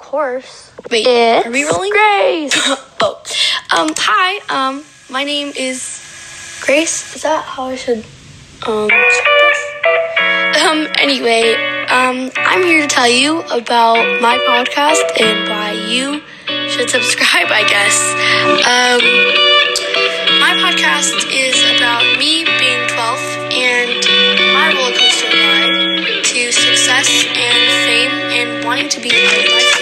course. Wait, It's are we rolling? Grace. Hi, my name is Grace. Is that how I should, start this? Anyway, I'm here to tell you about my podcast and why you should subscribe, I guess. My podcast is about me being 12 and my roller coaster ride to success and fame and wanting to be a life